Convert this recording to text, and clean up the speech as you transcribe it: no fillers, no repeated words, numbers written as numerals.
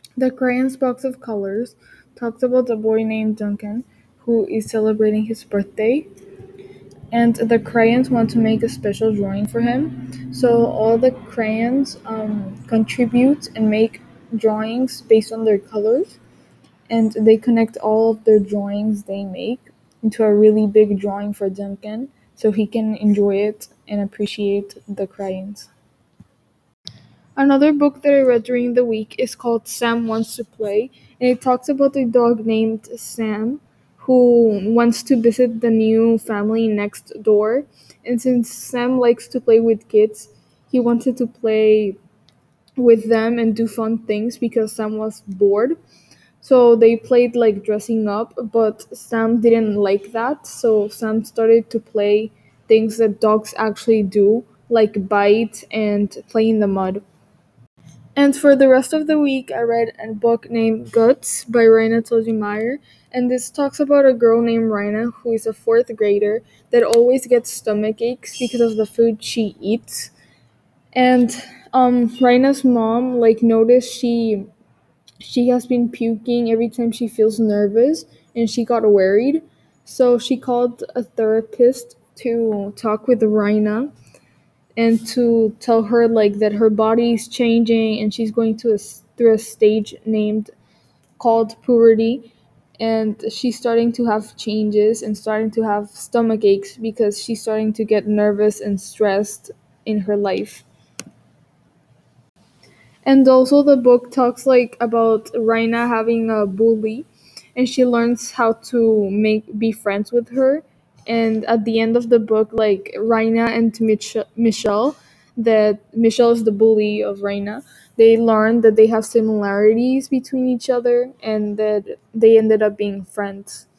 The Crayons Box of Colors talks about a boy named Duncan who is celebrating his birthday, and the crayons want to make a special drawing for him. So all the crayons contribute and make drawings based on their colors, and they connect all of their drawings they make into a really big drawing for Duncan so he can enjoy it and appreciate the crayons. Another book that I read during the week is called Sam Wants to Play, and it talks about a dog named Sam who wants to visit the new family next door. And since Sam likes to play with kids, he wanted to play with them and do fun things because Sam was bored. So they played like dressing up, but Sam didn't like that. So Sam started to play things that dogs actually do, like bite and play in the mud. And for the rest of the week, I read a book named Guts by Raina Telgemeier, and this talks about a girl named Raina who is a fourth grader that always gets stomach aches because of the food she eats. And Raina's mom like noticed she has been puking every time she feels nervous, and she got worried. So she called a therapist to talk with Raina and to tell her like that her body is changing and she's going through a stage named called puberty, and she's starting to have changes and starting to have stomach aches because she's starting to get nervous and stressed in her life. And also the book talks like about Raina having a bully, and she learns how to make be friends with her. And at the end of the book, like Raina and Michelle, that Michelle is the bully of Raina, they learn that they have similarities between each other and that they ended up being friends.